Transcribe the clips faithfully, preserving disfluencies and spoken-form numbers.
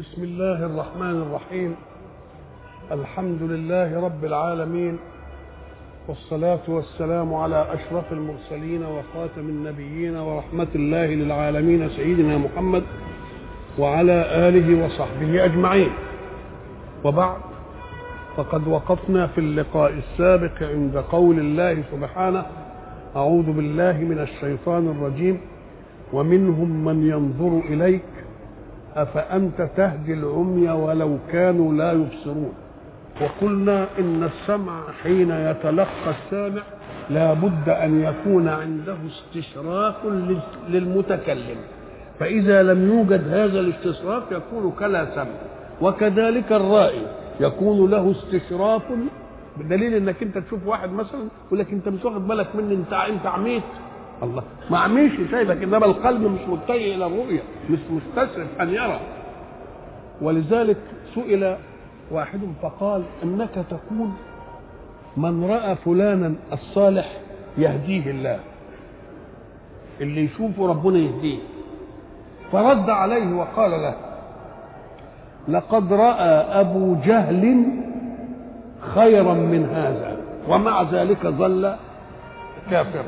بسم الله الرحمن الرحيم. الحمد لله رب العالمين، والصلاة والسلام على أشرف المرسلين وخاتم النبيين ورحمة الله للعالمين سيدنا محمد وعلى آله وصحبه أجمعين. وبعد، فقد وقفنا في اللقاء السابق عند قول الله سبحانه: أعوذ بالله من الشيطان الرجيم: ومنهم من ينظر إليك أفأنت تهدي العمي ولو كانوا لا يبصرون. وقلنا إن السمع حين يتلقى السامع لا بد أن يكون عنده استشراف للمتكلم، فإذا لم يوجد هذا الاستشراف يكون كلا سمع. وكذلك الرائي يكون له استشراف، بدليل انك انت تشوف واحد مثلا يقول لك انت مش واخد بالك مني، انت انت عميت. الله ما عميش شايفك، انما القلب مش متجه الى الرؤيه، مش مستشرف ان يرى. ولذلك سئل واحد فقال: انك تقول من راى فلانا الصالح يهديه الله، اللي يشوفه ربنا يهديه. فرد عليه وقال له: لقد راى ابو جهل خيرا من هذا ومع ذلك ظل كافرا.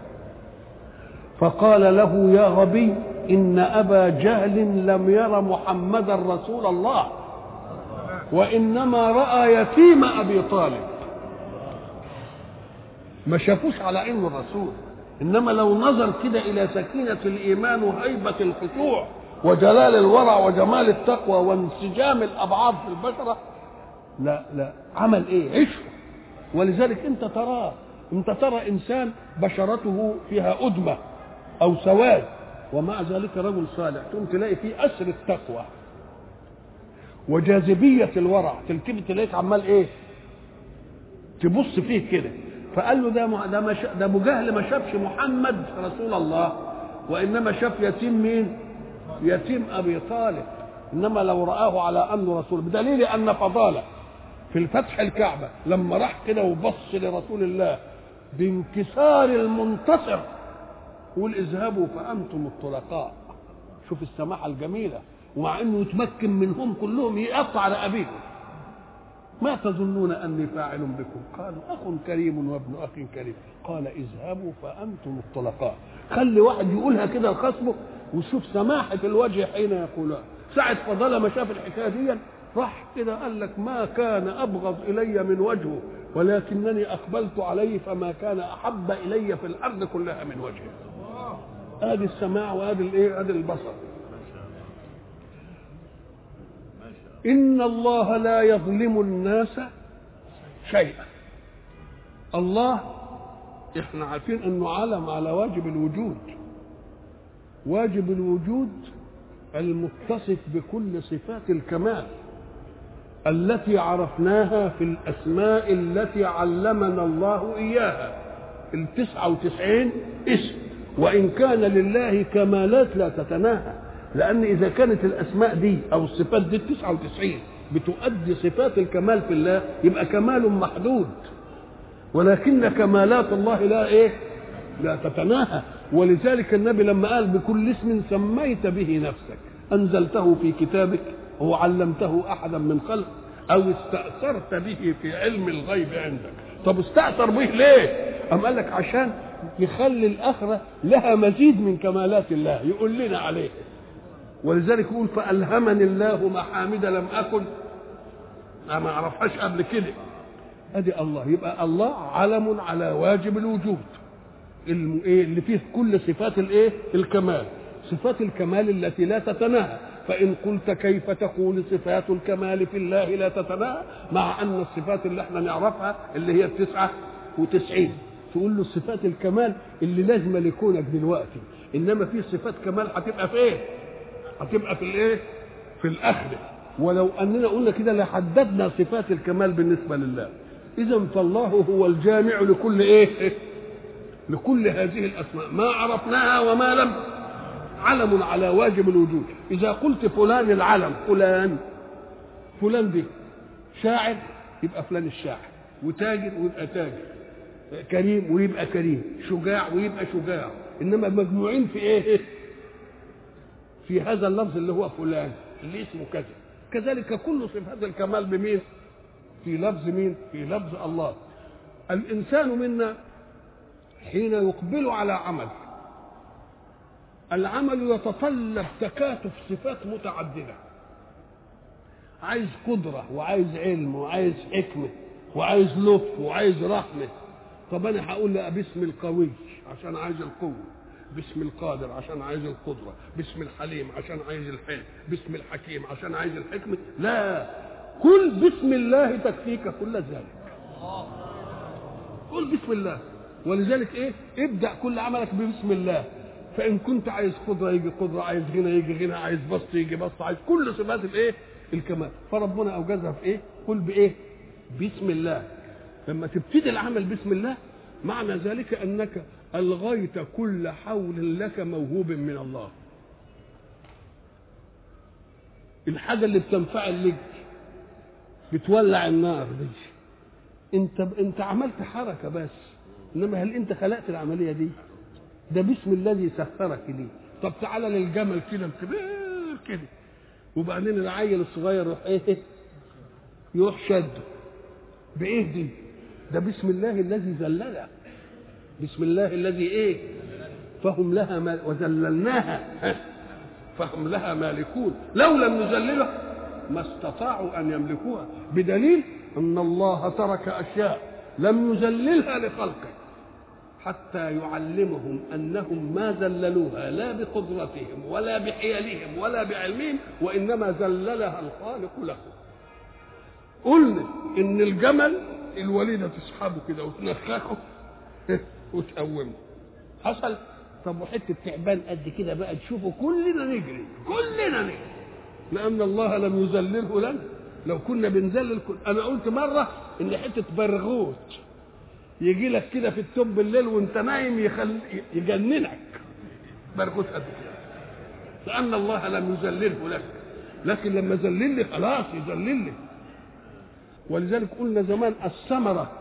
فقال له: يا غبي، إن أبا جهل لم ير محمدا رسول الله، وإنما رأى يتيم أبي طالب. ما شافوش على إنه الرسول، إنما لو نظر كده إلى سكينة الإيمان وهيبة الخشوع وجلال الورع وجمال التقوى وانسجام الأبعاد في البشرة، لا لا عمل إيه؟ عشق. ولذلك أنت تراه، أنت ترى إنسان بشرته فيها أدمة أو سواد ومع ذلك رجل صالح، تقوم تلاقي فيه أسر التقوى وجاذبية الورع، تلتفت تلاقيك عمال إيه؟ تبص فيه كده. فقال له: ده ده ما ده أبو جهل ما شافش محمد رسول الله، وإنما شاف يتيم مين؟ يتيم أبي طالب. إنما لو رآه على أنه رسول، بدليل أن فضالة في الفتح الكعبة لما راح كده وبص لرسول الله بانكسار المنتصر قول: اذهبوا فأنتم الطلقاء. شوف السماحة الجميلة، ومع أنه يتمكن منهم كلهم يقطع رقابيهم. ما تظنون أني فاعل بكم؟ قالوا: أخ كريم وابن أخ كريم. قال: اذهبوا فأنتم الطلقاء. خلي واحد يقولها كده لخصمه، وشوف سماحة الوجه حين يقولها. ساعة فضالة ما شاف الحكاية دي راح كده قال لك: ما كان أبغض إلي من وجهه، ولكنني أقبلت عليه فما كان أحب إلي في الأرض كلها من وجهه. ادي السماع وادي الايه؟ ادي البصر. ان الله لا يظلم الناس شيئا. الله احنا عارفين انه علم على واجب الوجود. واجب الوجود المتصف بكل صفات الكمال التي عرفناها في الاسماء التي علمنا الله اياها، التسعة وتسعين اسم. وإن كان لله كمالات لا تتناهى، لأن إذا كانت الأسماء دي أو الصفات دي تسعة وتسعين بتؤدي صفات الكمال في الله، يبقى كمال محدود. ولكن كمالات الله لا إيه؟ لا تتناهى. ولذلك النبي لما قال: بكل اسم سميت به نفسك، أنزلته في كتابك أو علمته أحدا من خلق أو استأثرت به في علم الغيب عندك. طب استأثر به ليه؟ أم قال لك عشان يخلي الآخرة لها مزيد من كمالات الله يقول لنا عليه. ولذلك يقول: فألهمني الله محامد لم أكن ما أعرفهاش قبل كده. أدي الله. يبقى الله علم على واجب الوجود اللي فيه كل صفات الايه؟ الكمال. صفات الكمال التي لا تتناهى. فإن قلت كيف تقول صفات الكمال في الله لا تتناهى مع أن الصفات اللي احنا نعرفها اللي هي التسعة وتسعين، تقول له صفات الكمال اللي لازم لكونك دلوقتي، انما في صفات كمال هتبقى في ايه؟ هتبقى في الايه؟ في الاخره. ولو اننا قلنا كده لحددنا صفات الكمال بالنسبه لله. اذا فالله هو الجامع لكل ايه؟ لكل هذه الاسماء، ما عرفناها وما لم. علم على واجب الوجود. اذا قلت فلان العلم، فلان فلان دي شاعر يبقى فلان الشاعر، وتاجر ويبقى تاجر، كريم ويبقى كريم، شجاع ويبقى شجاع. انما مجموعين في ايه؟ في هذا اللفظ اللي هو فلان. اللي اسمه كذا. كذلك كل صفات الكمال بمين؟ في لفظ مين؟ في لفظ الله. الإنسان منا حين يقبل على عمل، العمل يتطلب تكاتف صفات متعددة، عايز قدرة وعايز علم وعايز حكمة وعايز لطف وعايز رحمة. طب أنا هقول لا باسم القوي عشان عايز القوة، باسم القادر عشان عايز القدرة، باسم الحليم عشان عايز الحلم، باسم الحكيم عشان عايز الحكمة. لا، كل باسم الله تكفيك كل ذلك. قل بسم الله. ولذلك ايه؟ ابدأ كل عملك ببسم الله. فإن كنت عايز قدرة يجي قدرة، عايز غنى يجي غنى، عايز بسط يجي بسط، عايز كل صفات الايه؟ الكمال. فربنا أوجزها في ايه؟ قل بايه؟ بسم الله. لما تبتدي العمل بسم الله معنى ذلك أنك ألغيت كل حول لك موهوب من الله. الحاجة اللي بتنفعل لك بتولع النار دي، انت انت عملت حركة بس، انما هل انت خلقت العملية دي؟ ده بسم الذي سخرك ليه. طب تعالى للجمل كده كبير كده، وبعدين العيل الصغير يروح ايه؟ يروح شده بايه دي؟ ده بسم الله الذي ذللها، بسم الله الذي ايه؟ فهم لها مال وذللناها فهم لها مالكون. لو لم نذللها ما استطاعوا ان يملكوها، بدليل ان الله ترك اشياء لم يذللها لخلقه حتى يعلمهم انهم ما ذللوها لا بقدرتهم ولا بحيلهم ولا بعلمهم، وانما ذللها الخالق لهم. قلنا ان الجمل الوليده تسحبه كده وتنخخه وتقومه، حصل. طب وحته تعبان قد كده بقى تشوفه كلنا نجري، كلنا نجري، لان الله لم يذلله لنا. لو كنا بنذلل كل... انا قلت مره ان حته برغوت يجي لك كده في التوب بالليل وانت نايم يخل... يجننك، برغوت قد كده، لان الله لم يذلله لك. لكن لما ذلل لي خلاص يذلل لي. ولذلك قلنا زمان الثمره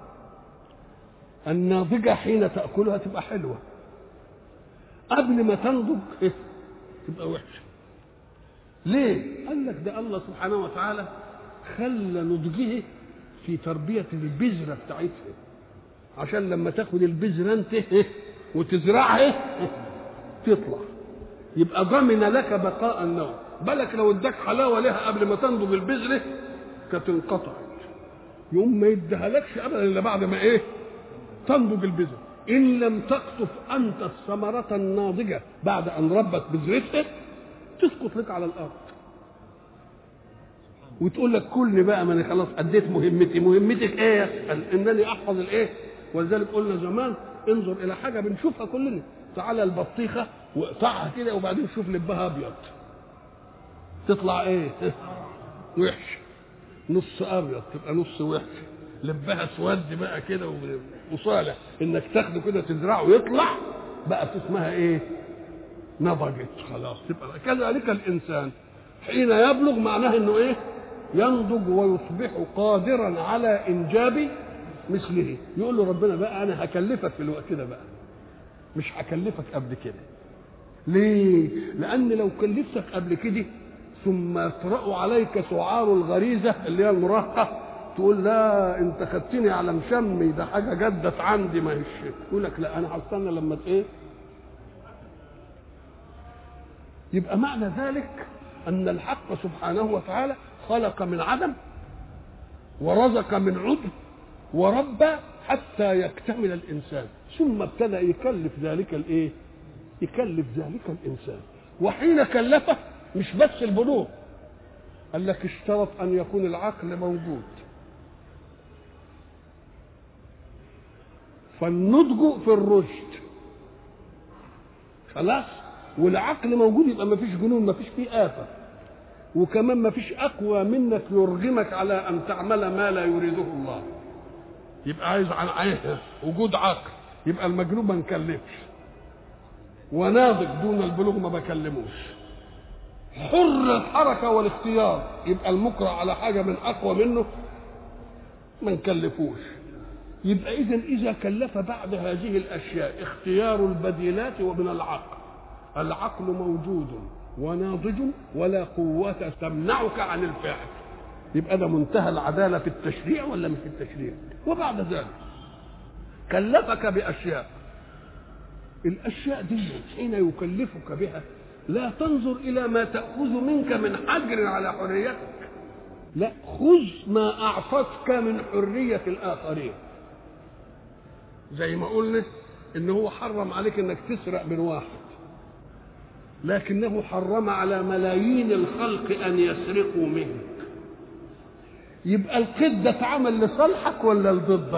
الناضجه حين تاكلها تبقى حلوه، قبل ما تنضج إيه؟ تبقى وحشه. ليه؟ قال لك ده الله سبحانه وتعالى خلى نضجه في تربيه البذره بتاعتها، عشان لما تاخد البذره انت إيه؟ وتزرعها إيه؟ تطلع، يبقى ضمن لك بقاء النوع. بالك لو اداك حلاوه لها قبل ما تنضج البذره كانت انقطعت، يوم ما يديها لكش ابدا الا بعد ما ايه؟ تنضج البذره. ان لم تقطف انت الثمره الناضجه بعد ان ربت بذرتها تسقط لك على الارض وتقول لك كلني بقى، ما انا خلاص اديت مهمتي. مهمتك ايه؟ انني احفظ الايه. ولذلك قلنا زمان انظر الى حاجه بنشوفها كلنا، تعالى البطيخه واقطعها كده وبعدين شوف لبها ابيض تطلع ايه؟ وحش. نص ابيض تبقى نص وحش. لبها اسود بقى كده وصالح انك تاخده كده تزرعه ويطلع بقى اسمها ايه؟ نضجت خلاص. تبقى كذلك الانسان حين يبلغ معناه انه ايه؟ ينضج ويصبح قادرا على انجاب مثله. يقول له ربنا بقى انا هكلفك في الوقت ده بقى، مش هكلفك قبل كده. ليه؟ لان لو كلفتك قبل كده ثم يطرأ عليك سعار الغريزه اللي هي المراهقه تقول لا انت خدتني على مشمي، ده حاجه جدت عندي ما هيش. يقول لك لا انا هستنى لما ايه. يبقى معنى ذلك ان الحق سبحانه وتعالى خلق من عدم ورزق من عدم وربى حتى يكتمل الانسان، ثم ابتدى يكلف ذلك الايه؟ يكلف ذلك الانسان. وحين كلفه مش بس البلوغ، قال لك اشترط ان يكون العقل موجود. فالنضج في الرشد خلاص، والعقل موجود، يبقى ما فيش جنون، ما فيش فيه آفة، وكمان ما فيش أقوى منك يرغمك على أن تعمل ما لا يريده الله. يبقى عايز عن عيه وجود عقل، يبقى المجنون ما نكلفش، وناضج دون البلوغ ما بكلموش. حر الحركة والاختيار، يبقى المكره على حاجة من أقوى منه ما نكلفوش. يبقى إذن إذا كلف بعد هذه الأشياء اختيار البديلات ومن العقل، العقل موجود وناضج ولا قوة تمنعك عن الفعل. يبقى ده منتهى العدالة في التشريع ولا مش في التشريع؟ وبعد ذلك كلفك بأشياء، الأشياء دي حين يكلفك بها لا تنظر إلى ما تأخذ منك من حجر على حريتك، لا، خذ ما أعطتك من حرية الآخرين. زي ما قلنا إنه هو حرم عليك إنك تسرق من واحد، لكنه حرم على ملايين الخلق أن يسرقوا منك. يبقى القيد ده اتعمل لصالحك ولا لضدك؟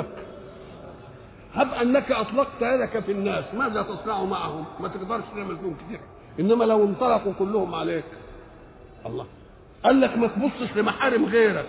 هب أنك أطلقت يدك في الناس، ماذا تصنع معهم؟ ما تقدرش تعمل فيهم كتير، إنما لو انطلقوا كلهم عليك، الله قال لك ما تبصش لمحارم غيرك.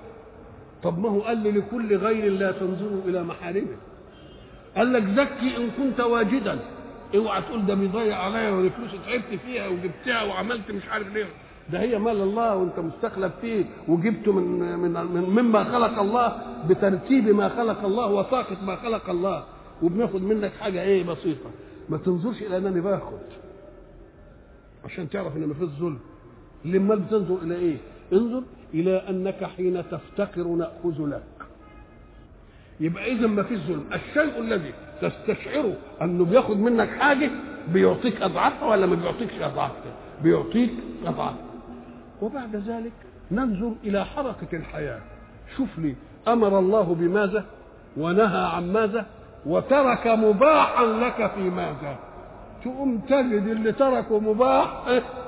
طب ما هو قال لي لكل غير لا تنظروا إلى محارمه. قال لك زكي إن كنت واجدا، اوعى تقول ده بيضيع عليا والفلوس تعبت فيها وجبتها وعملت مش عارف ليه، ده هي مال الله وانت مستخلف فيه وجبته من من من مما خلق الله بترتيب ما خلق الله وطاقه ما خلق الله، وبناخد منك حاجه ايه بسيطه. ما تنظرش الى انني باخد عشان تعرف ان ما فيش ظلم. لما بتنظر الى ايه؟ انظر الى انك حين تفتقر ناخذ لك. يبقى اذا ما فيش ظلم. الشيء الذي تستشعره انه بياخد منك حاجه بيعطيك اضعافها ولا ما بيعطيكش اضعافها؟ بيعطيك اضعافها. وبعد ذلك ننظر الى حركه الحياه. شوف لي امر الله بماذا ونهى عن ماذا وترك مباحا لك في ماذا. تقوم تجد اللي تركه مباح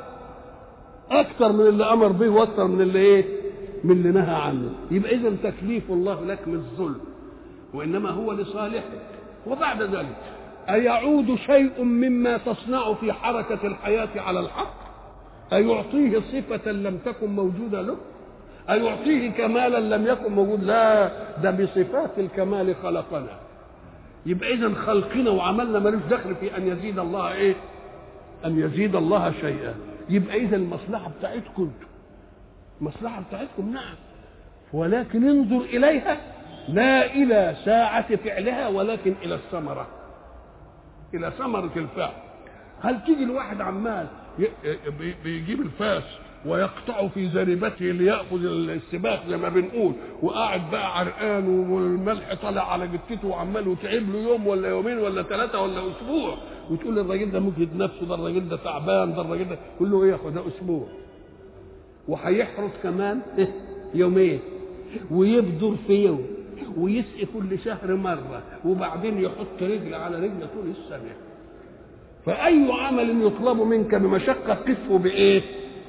اكثر من اللي امر به واكثر من اللي ايه من اللي نهى عنه. يبقى اذا تكليف الله لك مش ظلم وانما هو لصالحك. وبعد ذلك ايعود شيء مما تصنع في حركه الحياه على الحق؟ ايعطيه صفه لم تكن موجوده له؟ ايعطيه كمالا لم يكن موجود؟ لا، ده بصفات الكمال خلقنا. يبقى اذا خلقنا وعملنا ملوش دخل في ان يزيد الله ايه ان يزيد الله شيئا. يبقى اذا المصلحه بتاعتكم المصلحه بتاعتكم نعم، ولكن انظر اليها لا الى ساعه فعلها ولكن الى الثمره، الى ثمره الفعل. هل تيجي الواحد عمال بيجيب الفاس ويقطع في زريبته ليأخذ السباق زي ما بنقول وقاعد بقى عرقان والملح طالع على جثته وعمال وتعب له يوم ولا يومين ولا ثلاثة ولا أسبوع، وتقول الراجل ده مجهد نفسه، ده الراجل ده تعبان، ده الراجل ده كله له إيه ياخد ده أسبوع وهيحرس كمان يومين ويبذر في يوم ويسقي كل شهر مرة وبعدين يحط رجل على رجل طول السنة. فأي عمل يطلب منك بمشقة قفه بإيه؟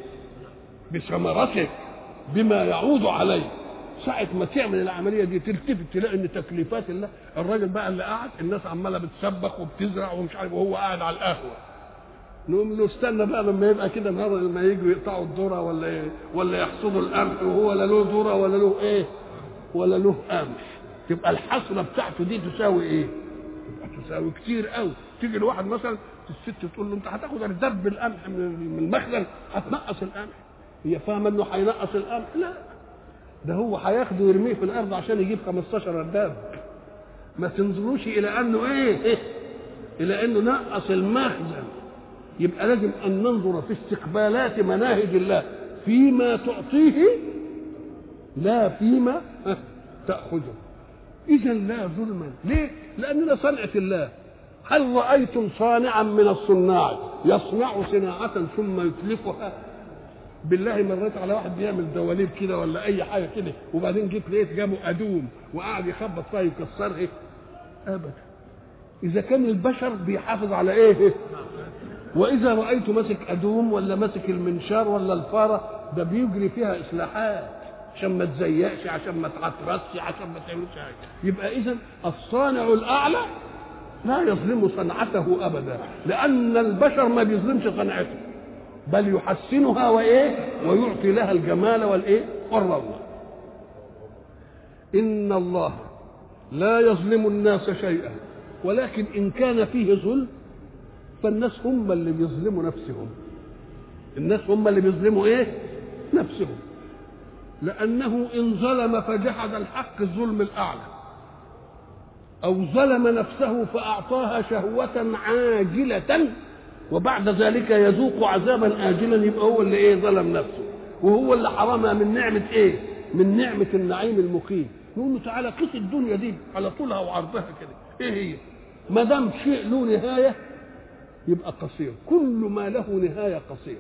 بثمرته، بما يعود عليه. ساعة ما تعمل العملية دي تلتفت تلاقي ان تكليفات الله. الراجل بقى اللي قاعد الناس عماله بتسبخ وبتزرع ومش عارف وهو قاعد على القهوة، نقوم له استنى بقى لما يبقى كده النهارده لما يجوا يقطعوا الذرة ولا إيه؟ ولا يحصدوا القمح وهو لا له ذرة ولا له ايه ولا له قمح، تبقى الحصلة بتاعته دي تساوي ايه؟ تبقى تساوي كتير قوي. تيجي لواحد مثلا الست تقول له انت هتاخد اردب القمح من المخزن هتنقص القمح، هي فاهمه انه هينقص القمح؟ لا، ده هو هياخده ويرميه في الارض عشان يجيب خمستاشر ارداب. ما تنظروش الى انه ايه, إيه؟ الى انه نقص المخزن. يبقى لازم ان ننظر في استقبالات مناهج الله فيما تعطيه لا فيما تاخذه. اذا لا ظلما. ليه؟ لاننا صنعه الله. هل رايتم صانعا من الصناع يصنع صناعه ثم يتلفها؟ بالله مريت على واحد بيعمل دواليب كده ولا اي حاجه كده وبعدين جيت لقيت جابه ادوم وقعد يخبط فيها يكسرها؟ ابدا. اذا كان البشر بيحافظ على ايه؟ واذا رايته ماسك ادوم ولا ماسك المنشار ولا الفاره ده بيجري فيها اصلاحات عشان ما تزيقش، عشان ما تعترسش، عشان ما تعملش حاجه. يبقى اذا الصانع الاعلى لا يظلم صنعته ابدا، لان البشر ما بيظلمش صنعته بل يحسنها وايه ويعطي لها الجمال والايه والروعه. ان الله لا يظلم الناس شيئا، ولكن ان كان فيه ظلم فالناس هم اللي بيظلموا نفسهم. الناس هم اللي بيظلموا ايه نفسهم، لانه ان ظلم فجحد الحق الظلم الاعلى او ظلم نفسه فاعطاها شهوه عاجله وبعد ذلك يذوق عذابا آجلا، يبقى هو اللي ايه ظلم نفسه، وهو اللي حرمها من نعمة ايه؟ من نعمة النعيم المقيم. نقول له تعالى قيس الدنيا دي على طولها وعرضها كده، ايه هي؟ ما دام شيء له نهاية يبقى قصير، كل ما له نهاية قصير.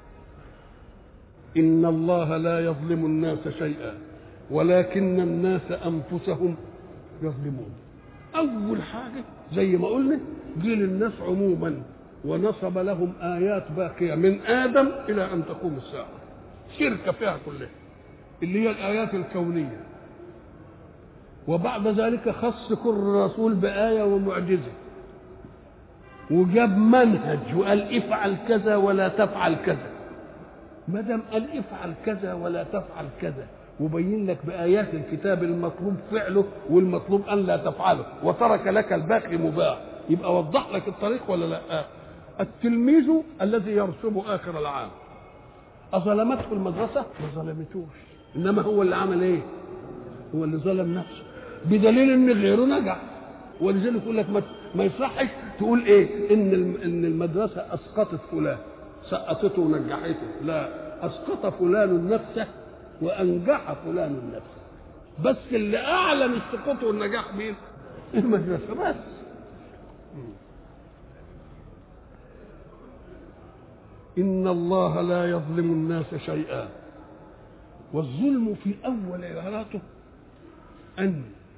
إن الله لا يظلم الناس شيئا ولكن الناس أنفسهم يظلمون. أول حاجة زي ما قلنا دي للناس عموما، ونصب لهم آيات باقية من آدم إلى أن تقوم الساعة، شركة فيها كلها اللي هي الآيات الكونية. وبعد ذلك خص كل رسول بآية ومعجزة، وجاب منهج وقال افعل كذا ولا تفعل كذا. ما دام قال افعل كذا ولا تفعل كذا وبين لك بآيات الكتاب المطلوب فعله والمطلوب أن لا تفعله، وترك لك الباقي مباح، يبقى وضح لك الطريق ولا لا؟ التلميذ الذي يرسب آخر العام أظلمته المدرسة؟ ما ظلمتوش، إنما هو اللي عمل إيه؟ هو اللي ظلم نفسه، بدليل إن غيره نجح. ولذلك يقول لك ما يصحش تقول إيه؟ إن إن المدرسة أسقطت فلان، سقطته ونجحته، لا، أسقط فلان نفسه وأنجح فلان نفسه، بس اللي أعلن السقوط والنجاح مين؟ المدرسة بس. إن الله لا يظلم الناس شيئا. والظلم في أول عباراته أن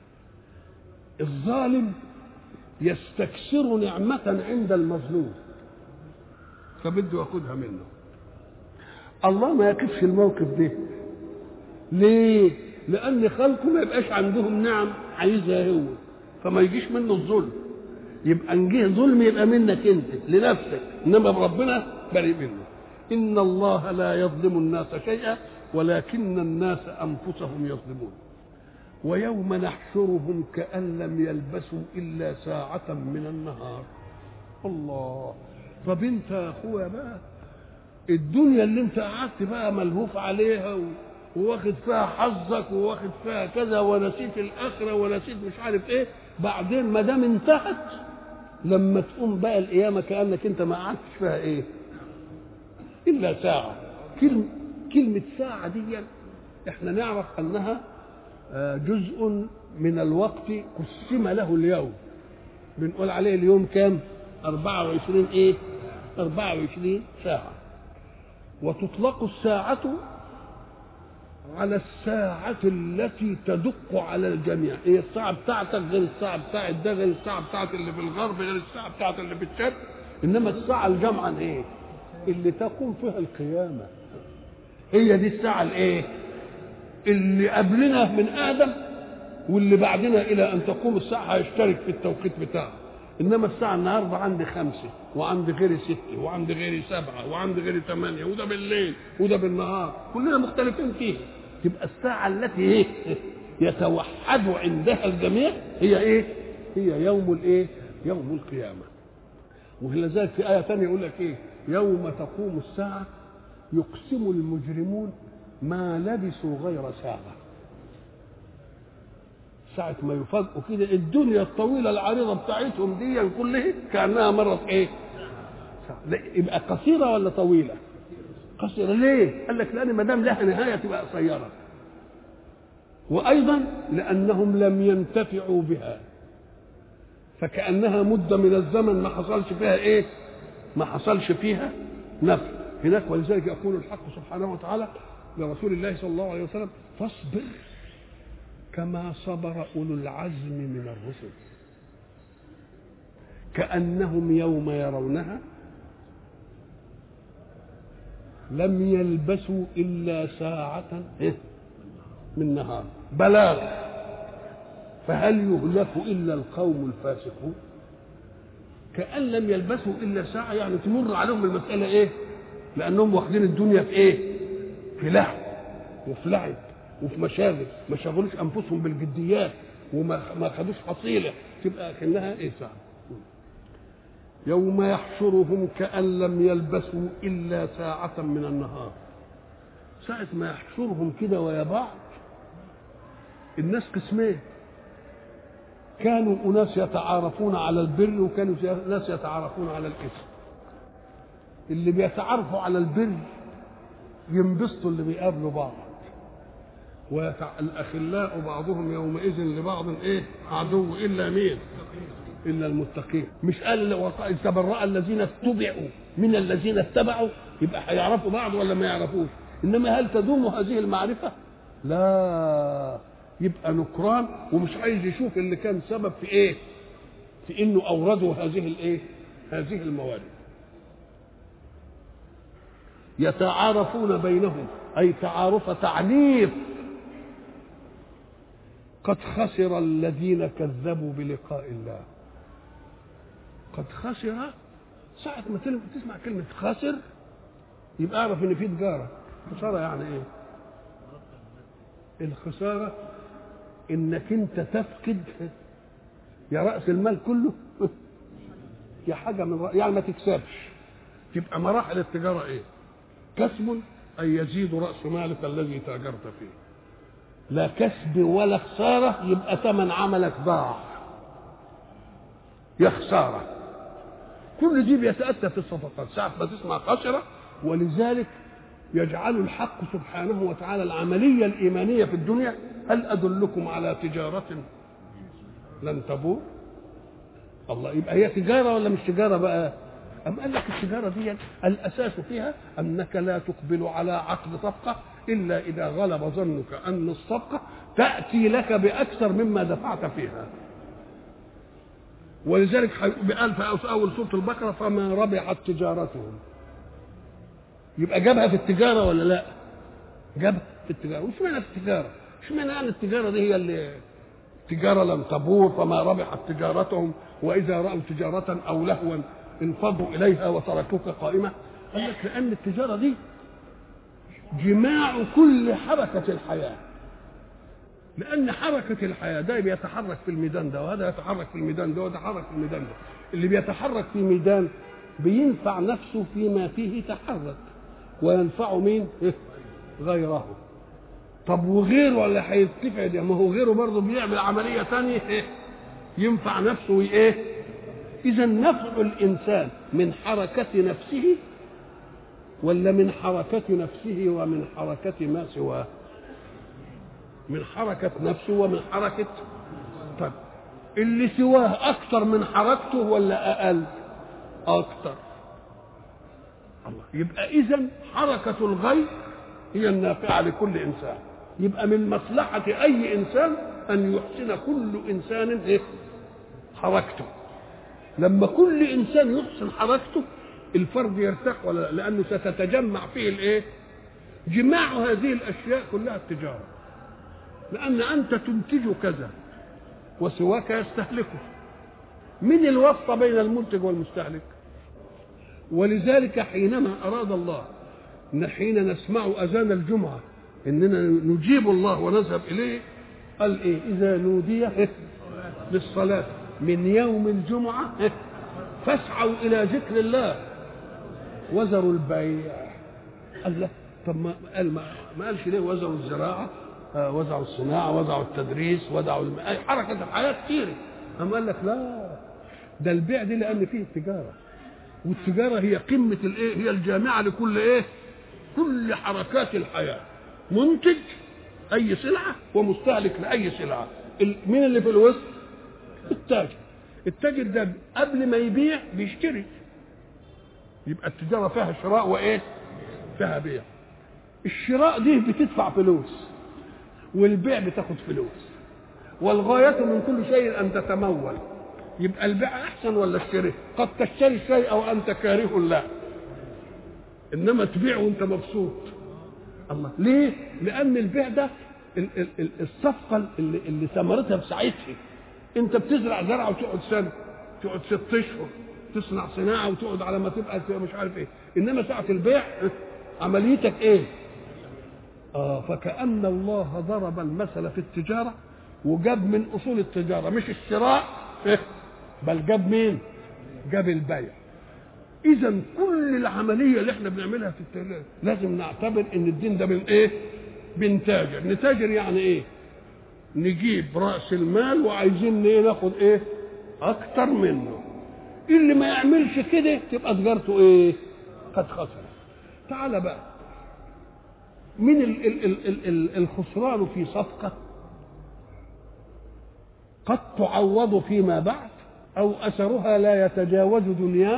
الظالم يستكثر نعمة عند المظلوم فبده ياخدها منه. الله ما يقفش الموقف ده. ليه؟ لأن خلقه ما يبقاش عندهم نعم عايزها هو، فما يجيش منه الظلم. يبقى ان جه ظلم يبقى منك انت لنفسك، انما ربنا بريء منه. ان الله لا يظلم الناس شيئا ولكن الناس انفسهم يظلمون. ويوم نحشرهم كأن لم يلبسوا الا ساعة من النهار. الله. طب انت يا اخويا بقى الدنيا اللي انت قعدت بقى ملهوف عليها وواخد فيها حظك وواخد فيها كذا ونسيت الاخره ونسيت مش عارف ايه، بعدين ما دام انتهت لما تقوم بقى القيامه كانك انت ما قعدتش فيها ايه الا ساعه. كلمه كلمه ساعه دي احنا نعرف انها جزء من الوقت قسم له اليوم، بنقول عليه اليوم كام؟ أربعة وعشرين ايه؟ أربعة وعشرين ساعه. وتطلق الساعه على الساعة التي تدق على الجميع. هي الساعة بتاعتك غير الساعة بتاعت ده غير الساعة بتاعت اللي في الغرب غير الساعة بتاعت اللي في الشرق، إنما الساعة الجمعة إيه؟ اللي تقوم فيها القيامة. هي دي الساعة الإيه؟ اللي قبلنا من آدم واللي بعدنا إلى أن تقوم الساعة هيشترك في التوقيت بتاعه. إنما الساعة النهاردة عندي خمسة وعندي غيري ستة وعندي غيري سبعة وعندي غيري ثمانية، وده بالليل وده بالنهار، كلنا مختلفين فيها. تبقى الساعة التي ايه يتوحد عندها الجميع هي ايه؟ هي يوم الايه؟ يوم القيامة. ولذلك في آية ثانية يقول لك ايه؟ يوم تقوم الساعة يقسم المجرمون ما لبثوا غير ساعة. ساعة ما يفاجئوا كده الدنيا الطويلة العريضة بتاعتهم دي كلها كأنها مرت ايه؟ ساعة. يبقى قصيرة ولا طويلة؟ قصيرة. ليه؟ قال لك لأن ما دام لها نهاية تبقى قصيرة، وأيضا لأنهم لم ينتفعوا بها فكأنها مدة من الزمن ما حصلش فيها إيه؟ ما حصلش فيها نفع هناك. ولذلك يقول الحق سبحانه وتعالى لرسول الله صلى الله عليه وسلم: فاصبر كما صبر أولو العزم من الرسل كأنهم يوم يرونها لم يلبسوا إلا ساعة من نهار بلاغ فهل يهلك إلا القوم الفاسقون. كأن لم يلبسوا إلا ساعة، يعني تمر عليهم المسألة إيه؟ لأنهم واخدين الدنيا في إيه؟ في لهو وفي لعب وفي مشاغل، ما شغلوش أنفسهم بالجديات وما ما خدوش حصيلة، تبقى كأنها إيه؟ ساعة. يوم يحشرهم كأن لم يلبسوا إلا ساعة من النهار. ساعة ما يحشرهم كده ويا بعض الناس قسمين، كانوا أناس يتعارفون على البر وكانوا ناس يتعارفون على الإثم. اللي بيتعرفوا على البر ينبسطوا اللي بيقابلوا بعض، والأخلاء بعضهم يومئذ لبعض ايه عدو الا مين؟ الا المتقين. مش قال تبرأ الذين اتبعوا من الذين اتبعوا، يبقى هيعرفوا بعض ولا ما يعرفوش؟ انما هل تدوم هذه المعرفه؟ لا، يبقى نكران ومش عايز يشوف اللي كان سبب في ايه؟ في انه اوردوا هذه الايه؟ هذه الموارد. يتعارفون بينهم، اي تعارف تعنيف. قد خسر الذين كذبوا بلقاء الله. قد خسر، ساعة ما تسمع كلمة خسر يبقى اعرف ان في تجارة. خسارة يعني ايه؟ الخسارة انك انت تفقد يا رأس المال كله يا حاجة من رأس، يعني ما تكسبش. تبقى مراحل التجارة ايه؟ كسب أي يزيد رأس مالك الذي تاجرت فيه، لا كسب ولا خسارة يبقى ثمن عملك ضاع، يا خسارة. كل دي بيتأتى في الصفقات ساعة ما تسمع خسرة. ولذلك يجعل الحق سبحانه وتعالى العملية الإيمانية في الدنيا هل أدلكم على تجارة لن تبور؟ الله، يبقى هي تجارة ولا مش تجارة بقى؟ أم قال لك التجارة دي الأساس فيها أنك لا تقبل على عقد صفقة إلا إذا غلب ظنك أن الصفقة تأتي لك بأكثر مما دفعت فيها. ولذلك قال في أول سورة البقرة فما ربحت تجارتهم. يبقى جابها في التجارة ولا لا؟ جابها في التجارة. وش معنى التجارة؟ وش معنى يعني التجارة دي هي اللي تجارة لم تبور فما ربحت تجارتهم وإذا رأوا تجارة أو لهوا انفضوا إليها وتركوك قائمة؟ قال لك لأن التجارة دي جماع كل حركة الحياة. لأن حركة الحياة ده بيتحرك في الميدان ده وهذا يتحرك في الميدان ده ويتحرك في الميدان ده. اللي بيتحرك في ميدان بينفع نفسه فيما فيه تحرك وينفع مين؟ غيره. طب وغيره ولا هيتفع ده؟ ما هو غيره برضه بيعمل عملية ثانية ينفع نفسه وإيه؟ إذا نفع الإنسان من حركة نفسه ولا من حركة نفسه ومن حركة ما سواه؟ من حركة نفسه ومن حركة. طب اللي سواه أكثر من حركته ولا أقل؟ أكثر. الله، يبقى إذن حركة الغير هي النافعة لكل إنسان. يبقى من مصلحة أي إنسان أن يحسن كل إنسان إيه؟ حركته. لما كل إنسان يحسن حركته الفرد يرتاح ولا لا؟ لأنه ستتجمع فيه الإيه؟ جماع هذه الأشياء كلها التجارة. لأن أنت تنتج كذا وسواك يستهلكه. من الواسطة بين المنتج والمستهلك؟ ولذلك حينما أراد الله إن حين نسمع أذان الجمعة إننا نجيب الله ونذهب إليه قال إيه؟ إذا نودي للصلاة من يوم الجمعة فاسعوا إلى ذكر الله وذروا البيع. قال لا، طب ما قال ما قالش ليه وذروا الزراعة، وزعوا الصناعة، وزعوا التدريس، وزعوا الم... حركة الحياة كتير. أما قال لك لا، ده البيع دي لأن فيه التجارة، والتجارة هي قمة الإيه؟ هي الجامعة لكل إيه؟ كل حركات الحياة. منتج أي سلعة ومستهلك لأي سلعة. مين اللي في الوسط؟ التاجر. التاجر ده قبل ما يبيع بيشتري. يبقى التجارة فيها شراء وإيه؟ فيها بيع. الشراء دي بتدفع فلوس والبيع بتاخد فلوس، والغاية من كل شيء أن تتمول. يبقى البيع أحسن ولا الشراء؟ قد تشتري الشيء وأنت كاره له، إنما تبيع وأنت مبسوط. الله، ليه؟ لأن البيع ده الصفقة اللي, اللي ثمرتها بساعتها. أنت بتزرع زرعة وتقعد سنة، تقعد ست أشهر، تصنع صناعة وتقعد على ما تبقى مش عارف إيه. إنما ساعة البيع عمليتك إيه؟ آه فكأن الله ضرب المثل في التجارة وجاب من أصول التجارة مش الشراء بل جاب مين؟ جاب البيع. إذا كل العملية اللي احنا بنعملها في التجارة لازم نعتبر إن الدين ده من إيه؟ بنتاجر. نتاجر يعني إيه؟ نجيب رأس المال وعايزين إيه؟ ناخد إيه؟ أكتر منه. اللي ما يعملش كده تبقى تجارته إيه؟ قد خسر. تعال بقى، من ال ال ال ال ال الخسران في صفقة قد تعوض فيما بعد، أو أثرها لا يتجاوز دنياك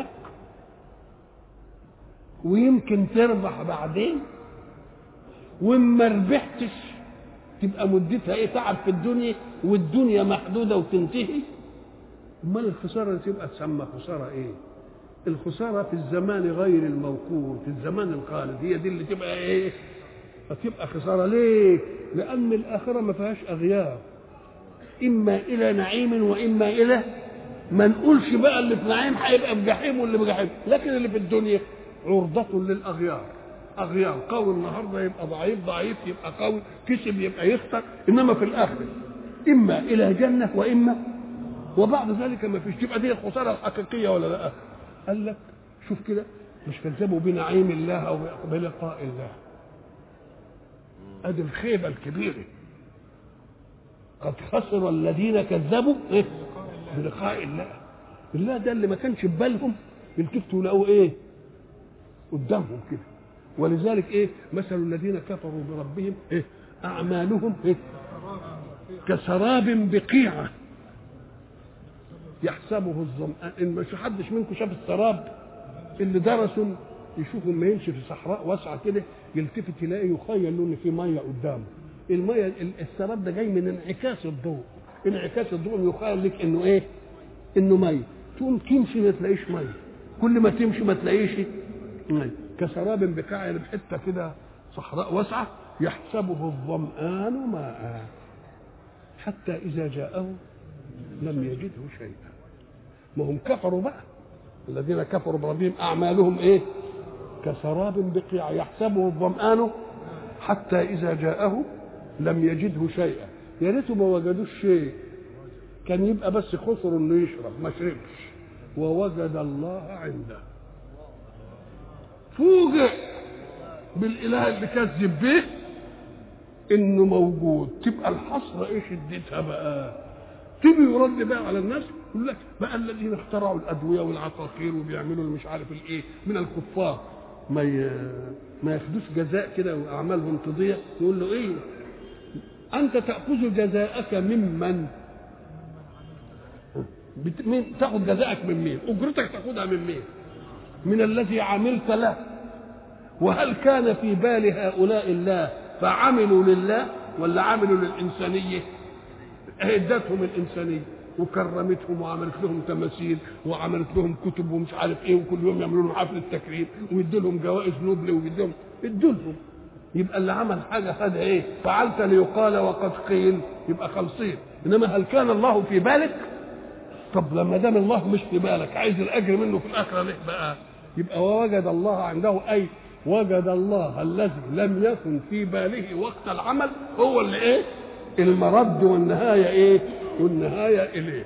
ويمكن تربح بعدين، وما ربحتش تبقى مدتها ايه؟ تعب في الدنيا، والدنيا محدودة وتنتهي. امال الخسارة اللي تبقى تسمى خسارة ايه؟ الخسارة في الزمان غير الموقوت، في الزمان الخالد، هي دي اللي تبقى ايه؟ هتبقى خسارة. ليه؟ لأن الآخرة ما فيهاش أغيار، إما إلى نعيم وإما إلى، ما نقولش بقى اللي في نعيم هيبقى في جحيم واللي في جحيم، لكن اللي في الدنيا عرضة للأغيار. أغيار، قوي النهارده يبقى ضعيف، ضعيف يبقى قوي، كسب يبقى يخسر. إنما في الآخرة إما إلى جنة وإما، وبعد ذلك ما فيش. تبقى دي الخسارة الحقيقية ولا لا؟ قال لك شوف كده، مش كذبوا بنعيم الله أو بلقاء الله، ادي الخيبه الكبيره. قد خسر الذين كذبوا إيه؟ بلقاء الله. الله ده اللي ما كانش في بالهم يلتفتوا لقوا ايه قدامهم كده. ولذلك ايه مثل الذين كفروا بربهم ايه؟ اعمالهم ايه؟ كسراب بقيعه يحسبه الظمآن. ان مش حدش منكم شاف السراب؟ اللي درسوا يشوفوا لما يمشي في صحراء واسعه كده يلتفت يلاقي يخيل له ان في ميه قدامه. الميه السراب ده جاي من انعكاس الضوء، انعكاس الضوء يخيل لك انه ايه؟ انه ميه. تقوم تمشي ما تلاقيش ميه، كل ما تمشي ما تلاقيش ميه. كسراب بقاع، يعني بحته كده صحراء واسعه يحسبه الظمآن ماء حتى اذا جاءه لم يجده شيئا. ما هم كفروا بقى، الذين كفروا بربهم اعمالهم ايه؟ كسراب بقيع يحسبه الظمآن حتى اذا جاءه لم يجده شيئا. يا ريته ما وجدوش شيء، كان يبقى بس خسر انه يشرب، ما شربش. ووجد الله عنده، فوجئ بالاله اللي كذب به انه موجود. تبقى الحسره ايه شدتها بقى؟ تيجي يرد بقى على الناس يقول لك بقى الذين اخترعوا الادويه والعقاقير وبيعملوا مش عارف الايه من الكفار ما ي... ما ياخدوش جزاء كده واعمالهم تضيع. يقول له ايه؟ انت تاخذ جزاءك ممن؟ بت... مين تاخذ جزاءك من مين؟ اجرتك تاخذها من مين؟ من الذي عملت له. وهل كان في بال هؤلاء الله فعملوا لله ولا عملوا للإنسانية؟ ادتهم الإنسانية وكرمتهم وعملت لهم تماثيل وعملت لهم كتب ومش عارف ايه، وكل يوم يعملوا لهم حفل التكريم ويدوا لهم جوائز نوبل ويدوا ادوا لهم. يبقى اللي عمل حاجه خد ايه؟ فعلت ليقال وقد قيل، يبقى خالصين. انما هل كان الله في بالك؟ طب لما دام الله مش في بالك عايز الاجر منه في الاخره ليه بقى؟ يبقى ووجد الله عنده، اي وجد الله الذي لم يكن في باله وقت العمل هو اللي ايه؟ المرد والنهايه ايه؟ والنهايه اليه.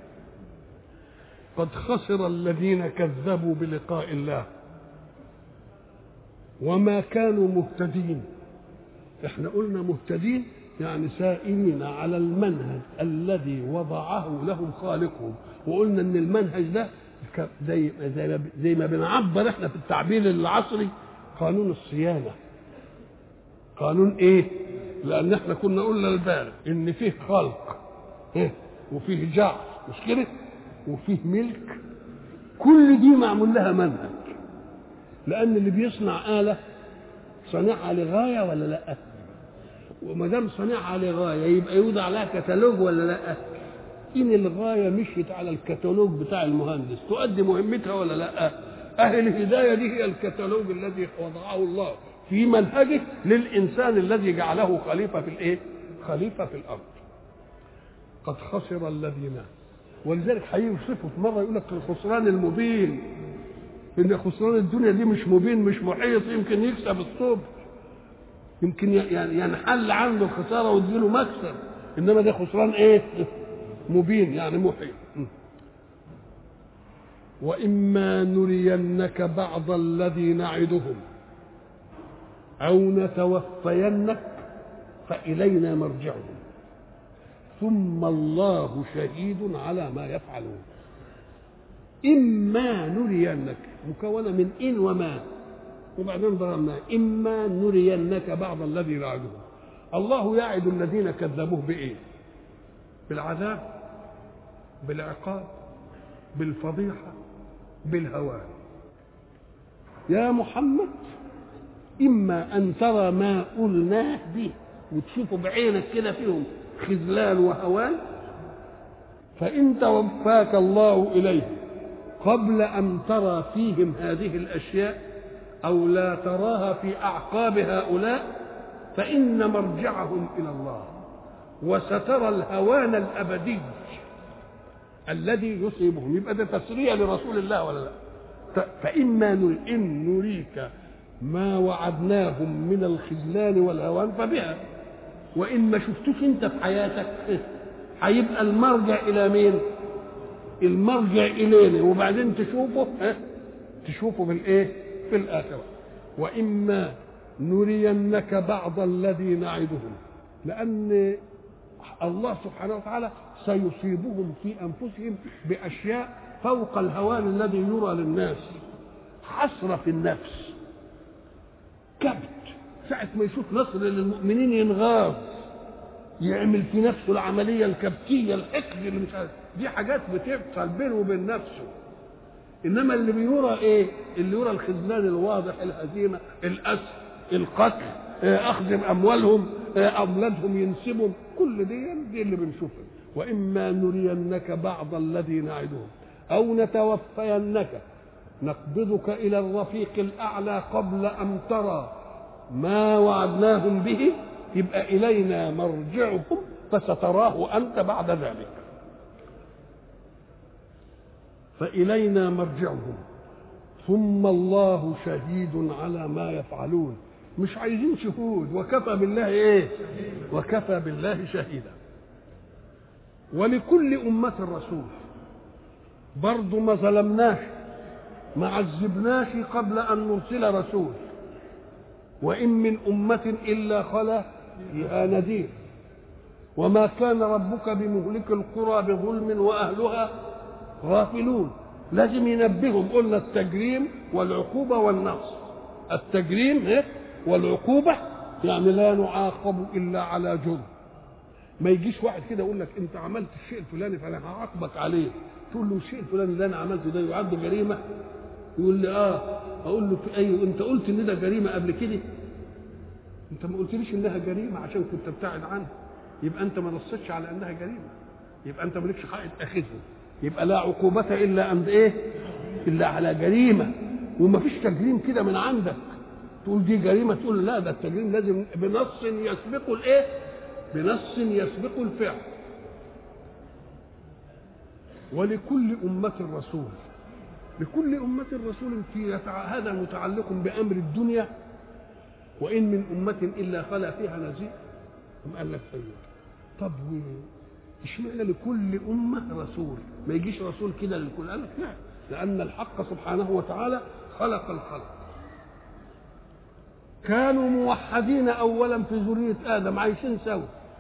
قد خسر الذين كذبوا بلقاء الله وما كانوا مهتدين. احنا قلنا مهتدين يعني سائرين على المنهج الذي وضعه لهم خالقهم. وقلنا ان المنهج ده زي زي زي ما بنعبر احنا في التعبير العصري قانون الصيانه. قانون ايه؟ لان احنا كنا قلنا البارح ان فيه خلق إيه؟ وفيه جعل، مش كده؟ وفيه ملك. كل دي معمول لها منهج، لان اللي بيصنع آلة صنعها لغايه ولا لا؟ وما دام صنعها لغايه يبقى يوضع لها كتالوج ولا لا؟ ان الغايه مشيت على الكتالوج بتاع المهندس تؤدي مهمتها ولا لا؟ اهل الهدايه دي هي الكتالوج الذي وضعه الله في منهجه للانسان الذي جعله خليفه في الايه؟ خليفه في الارض. قد خسر الذين، ولذلك هيوصفه في مره يقول لك الخسران المبين، ان خسران الدنيا دي مش مبين مش محيط، يمكن يكسب الصبح، يمكن يعني ينحل عنده الخساره ويديله مكسب، انما ده خسران ايه؟ مبين يعني محيط. واما نرينك بعض الذي نعدهم او نتوفينك فالينا مرجعهم ثم الله شهيد على ما يفعلون. اما نرينك مكونه من ان وما، وبعدين ضربناه إما نرينك بعض الذي نعدهم. الله يعد الذين كذبوه بإيه؟ بالعذاب، بالعقاب، بالفضيحة، بالهوان. يا محمد إما أن ترى ما قلناه به وتشوفوا بعينك كده فيهم خذلان وهوان، فإن توفاك الله إليه قبل أن ترى فيهم هذه الأشياء أو لا تراها في أعقاب هؤلاء فإن مرجعهم إلى الله، وسترى الهوان الأبدي الذي يصيبهم. يبقى ده تسرية لرسول الله ولا لا؟ فإما نري إن نريك ما وعدناهم من الخذلان والهوان فبها، وإن ما شفتوش أنت في حياتك هيبقى المرجع إلى مين؟ المرجع إلينا، وبعدين تشوفه ها تشوفه بالإيه؟ في الآخرة. وإما نرينك بعض الذي نعدهم، لأن الله سبحانه وتعالى سيصيبهم في أنفسهم بأشياء فوق الهوان الذي يرى للناس. حسرة في النفس، كبت، ساعة ما يشوف نصر للمؤمنين ينغاظ، يعمل في نفسه العملية الكبتية، الحقد اللي مش عارف، دي حاجات بتحصل بينه وبين نفسه. إنما اللي بيرى إيه؟ اللي يرى الخذلان الواضح، الهزيمة، الأسر، القتل، أخذ أموالهم، أولادهم ينسبهم، كل دي دي اللي بنشوفها. وإما نرينك بعض الذي نعدهم أو نتوفينك نقبضك إلى الرفيق الأعلى قبل أن ترى ما وعدناهم به، يبقى إلينا مرجعهم فستراه أنت بعد ذلك. فإلينا مرجعهم ثم الله شهيد على ما يفعلون. مش عايزين شهود، وكفى بالله ايه؟ وكفى بالله شهيدا. ولكل أمة رسول، برضو ما ظلمناش، ما عذبناش قبل أن نرسل رسول. وإن من أمة إلا خلا فيها نذير، وما كان ربك بمهلك القرى بظلم وأهلها غافلون. لازم ينبههم، قلنا التجريم والعقوبة والنقص. التجريم إيه؟ والعقوبة يعني لا نعاقب إلا على جرم. ما يجيش واحد كده يقول لك أنت عملت الشيء الفلاني فأنا هعاقبك عليه، تقول له الشيء الفلاني اللي أنا عملته ده يعد جريمة؟ يقول لي آه. أقول له في أي أنت قلت إن ده جريمة قبل كده؟ أنت ما قلتليش إنها جريمة عشان كنت ابتعد عنها، يبقى أنت ما نصتش على إنها جريمة، يبقى أنت مالكش حق تأخذه. يبقى لا عقوبة إلا عند إيه؟ إلا على جريمة. ومفيش تجريم كده من عندك تقول دي جريمة تقول لا، ده التجريم لازم بنص يسبق الإيه؟ بنص يسبق الفعل. ولكل أمة رسول، لكل أمة رسول في هذا متعلق بأمر الدنيا. وإن من أمة إلا خلا فيها نذير. ثم قال لك أيوه. طب اشمعنى لكل أمة رسول؟ ما يجيش رسول كده للكل؟ قال لك لا، لأن الحق سبحانه وتعالى خلق الخلق، كانوا موحدين أولا في ذرية آدم عايشين سوا،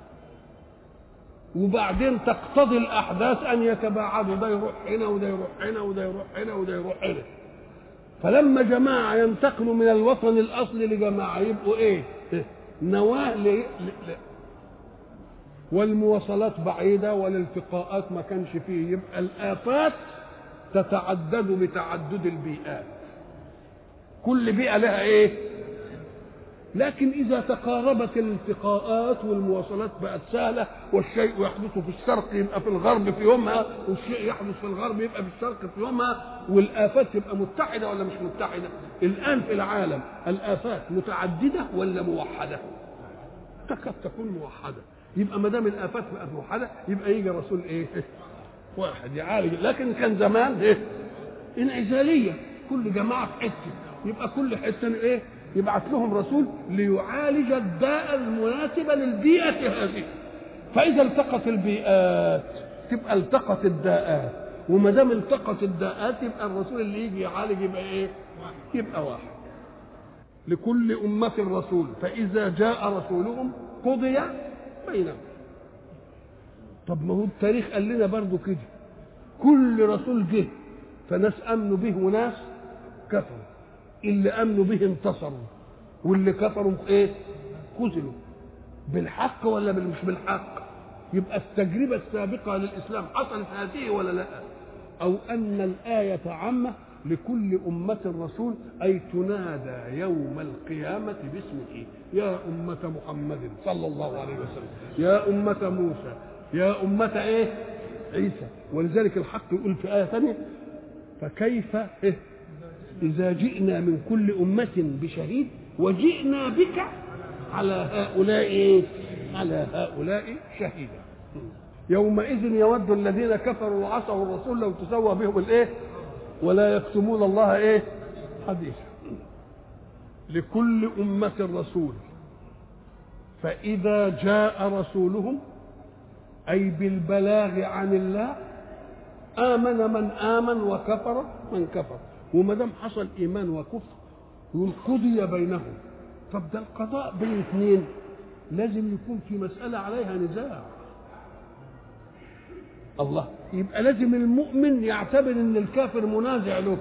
وبعدين تقتضي الأحداث أن يتباعدوا، ده يروح هنا وده يروح هنا وده يروح هنا وده يروح هنا. فلما جماعة ينتقلوا من الوطن الأصلي لجماعة يبقوا إيه؟ نواة ل... ل... ل... والمواصلات بعيدة والالتقاءات ما كانش فيه، يبقى الآفات تتعدد بتعدد البيئات، كل بيئة لها إيه؟ لكن إذا تقاربت الالتقاءات والمواصلات بقت سهلة، والشيء يحدث في الشرق يبقى في الغرب في يومها، والشيء يحدث في الغرب يبقى في الشرق في يومها، والآفات تبقى متحدة ولا مش متحدة؟ الآن في العالم الآفات متعددة ولا موحدة؟ تكاد تكون موحدة. يبقى ما دام الآفات بقت موحدة يبقى يجي رسول إيه؟ واحد يعالج. لكن كان زمان إيه؟ انعزالية، كل جماعة في حتة، يبقى كل حتة إيه؟ يبعث لهم رسول ليعالج الداء المناسبة للبيئة هذه. فإذا التقت البيئات تبقى التقت الداءات، وما دام التقت الداءات يبقى الرسول اللي يجي يعالج يبقى إيه؟ يبقى واحد. لكل أمة رسول فإذا جاء رسولهم قضي بينهم. طب ما هو التاريخ قال لنا برضو كده، كل رسول جه فناس آمنوا به وناس كفروا. اللي امنوا به انتصروا واللي كفروا ايه خذلوا بالحق ولا مش بالحق؟ يبقى التجربه السابقه للاسلام حصلت هذه ولا لا؟ او ان الايه عامه لكل امه رسول، اي تنادى يوم القيامه باسمه، يا امه محمد صلى الله عليه وسلم، يا امه موسى، يا امه ايه عيسى. ولذلك الحق يقول في ايه ثانيه فكيف إيه؟ اذا جئنا من كل امه بشهيد وجئنا بك على هؤلاء إيه؟ على هؤلاء شهيدا. يومئذ يود الذين كفروا وعصوا الرسول لو تسوى بهم الايه ولا يكتمون الله ايه حديثا. لكل امه رسول، فاذا جاء رسولهم اي بالبلاغ عن الله امن من امن وكفر من كفر. وما دام حصل ايمان وكفر يقول قضي بينهم. طب ده القضاء بين اثنين لازم يكون في مساله عليها نزاع. الله يبقى لازم المؤمن يعتبر ان الكافر منازع له،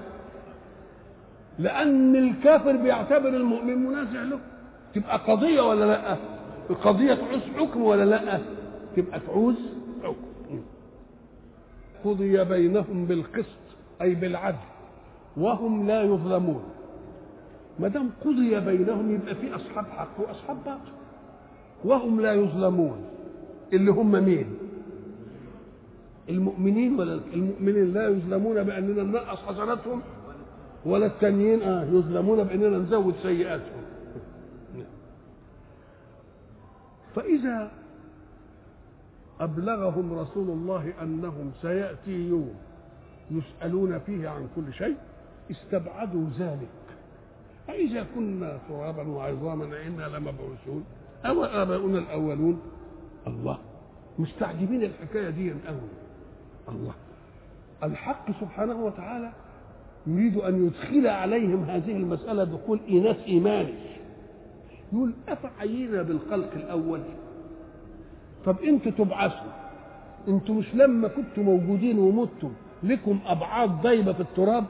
لان الكافر بيعتبر المؤمن منازع له. تبقى قضيه ولا لا؟ القضيه تعوز حكم ولا لا؟ تبقى تعوز حكم. قضي بينهم بالقسط اي بالعدل وهم لا يظلمون. ما دام قضي بينهم يبقى في اصحاب حق واصحاب باطل، وهم لا يظلمون اللي هم مين؟ المؤمنين. ولا المؤمنين لا يظلمون باننا ننقص حسناتهم، ولا التانيين اه يظلمون باننا نزود سيئاتهم. فاذا ابلغهم رسول الله انهم سياتي يوم يسالون فيه عن كل شيء استبعدوا ذلك. أإذا كنا ترابا وعظاما إنا لمبعوثون أو آباؤنا الأولون؟ الله مستعجبين الحكاية دي قوي. الله الحق سبحانه وتعالى يريد أن يدخل عليهم هذه المسألة دخول إيناس إيماني. يقول أفعينا بالخلق الأول؟ طب أنتوا تبعثوا، أنتوا مش لما كنتوا موجودين ومتوا لكم أبعاد ضيبة في التراب؟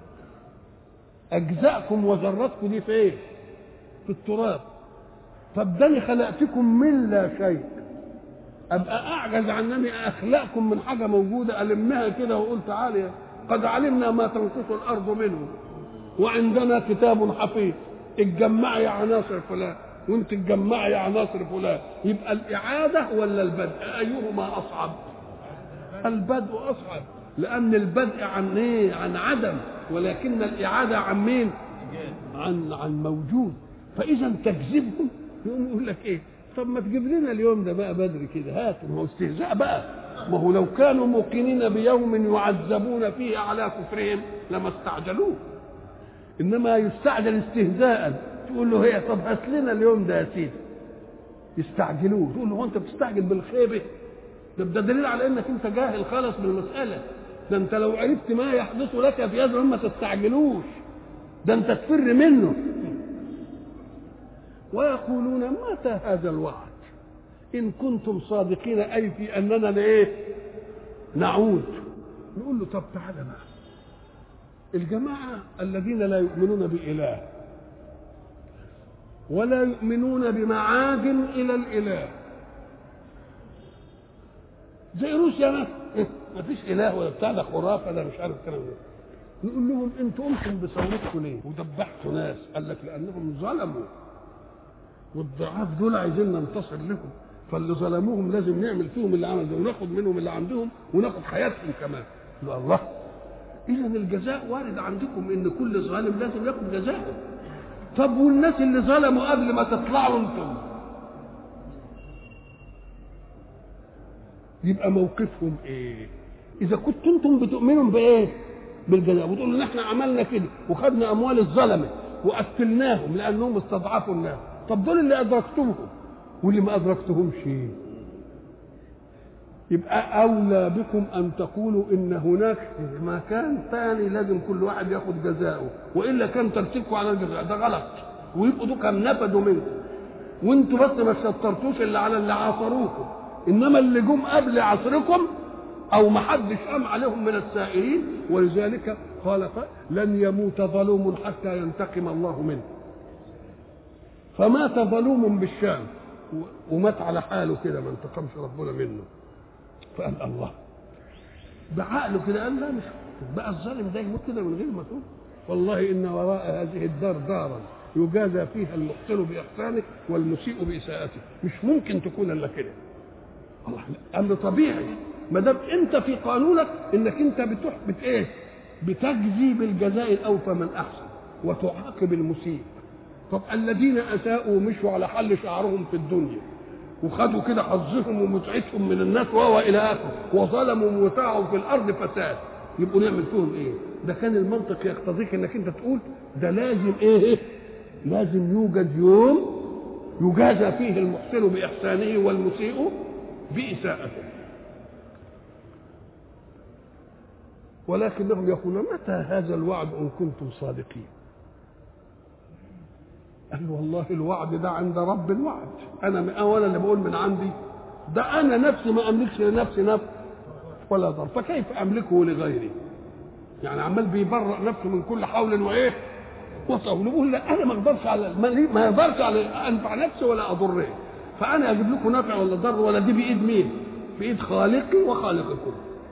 أجزاءكم وذراتكم دي في إيه؟ في التراب. طب ده أنا خلقتكم من لا شيء، أبقى أعجز عن أنني أخلقكم من حاجة موجودة ألمها كده وأقول تعالى قد علمنا ما تنقص الأرض منه وعندنا كتاب حفيظ، اتجمعي عناصر فلان وانت تجمعي عناصر فلان. يبقى الإعادة ولا البدء أيهما أصعب؟ البدء أصعب، لأن البدء عن إيه؟ عن عدم، ولكن الإعادة عن مين؟ عن عن موجود. فإذا تكذبهم يقوم يقول لك إيه؟ طب ما تجيب لنا اليوم ده بقى بدري كده، هات. ما هو استهزاء بقى. ما هو لو كانوا موقنين بيوم يعذبون فيه على كفرهم لما استعجلوه، إنما يستعجل استهزاء. تقول له هي طب هات لنا اليوم ده يا سيدي، يستعجلوه. تقول له هو أنت بتستعجل بالخيبة؟ ده ده دليل على إنك أنت جاهل خالص بالمسألة. ده انت لو عرفت ما يحدث لك في هذا ما تستعجلوش، ده انت تفر منه. ويقولون متى هذا الوعد ان كنتم صادقين، اي في اننا لايه نعود. نقول له طب تعالى بقى، الجماعه الذين لا يؤمنون باله ولا يؤمنون بمعاد الى الاله زي روسيا مثلا، ما فيش اله ولا بتاع، ده خرافه، ده مش عارف الكلام ده. نقول لهم انتوا قمتم بثورتكم ليه وذبحتوا ناس؟ قال لك لانهم ظلموا، والضعاف دول عايزين ننتصر لهم، فاللي ظلموهم لازم نعمل فيهم اللي عمل ده وناخد منهم اللي عندهم وناخد حياتهم كمان. الله اذا الجزاء وارد عندكم ان كل ظالم لازم ياخد جزاءه. طب والناس اللي ظلموا قبل ما تطلعوا انتم يبقى موقفهم ايه؟ اذا كنتم انتم بتؤمنوا بايه؟ بالجزاء، وتقولوا ان احنا عملنا كده وخدنا اموال الظلمه وقتلناهم لانهم استضعفوا الناس. طب دول اللي ادركتوهم واللي ما ادركتهمش يبقى اولى بكم ان تقولوا ان هناك مكان ثاني لازم كل واحد ياخد جزاءه، والا كان ترتيبكم على الجزاء ده غلط، ويبقوا دول كان نفدوا منكم وانتوا بس ما شطرتوش اللي على اللي عاصروكم، انما اللي جم قبل عصركم او ما حدش قام عليهم من السائرين. ولذلك قال لن يموت ظلوم حتى ينتقم الله منه. فمات ظلوم بالشام ومات على حاله كده ما انتقمش ربنا منه. فقال الله بعقله كده قال لا مش بقى الظالم ده يموت كده من غير ما تقول والله ان وراء هذه الدار دارا يجازى فيها المحسن باحسانه والمسيء باساءته، مش ممكن تكون الا كده. الله امر طبيعي ما دام انت في قانونك انك انت بتحبط ايه؟ بتجزي بالجزاء الاوفى من احسن وتعاقب المسيء. طب الذين اساءوا مشوا على حل شعرهم في الدنيا وخدوا كده حظهم ومتعتهم من الناس وهو الى اخره وظلموا ومتاعوا في الارض فساد، يبقوا نعمل فيهم ايه؟ ده كان المنطق يقتضيك انك انت تقول ده لازم ايه؟ لازم يوجد يوم يجازى فيه المحسن باحسانه والمسيء باساءته. ولكنهم يقولون متى هذا الوعد ان كنتم صادقين؟ قال والله الوعد ده عند رب الوعد، انا اولا اللي بقول من عندي ده انا نفسي ما املكش لنفسي نفس ولا ضر، فكيف املكه لغيري؟ يعني عمال بيبرأ نفسه من كل حول وايه وطول. يقول لا انا ما اقدرش على ما اقدرش على انفع نفسي ولا اضره، فانا اجيب لكم نفع ولا ضر ولا دي بايد مين؟ بايد خالقي وخالقكم.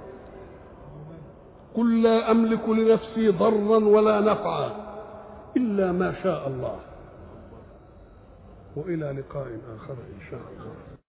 قل لا املك لنفسي ضرا ولا نفعا الا ما شاء الله. والى لقاء اخر ان شاء الله.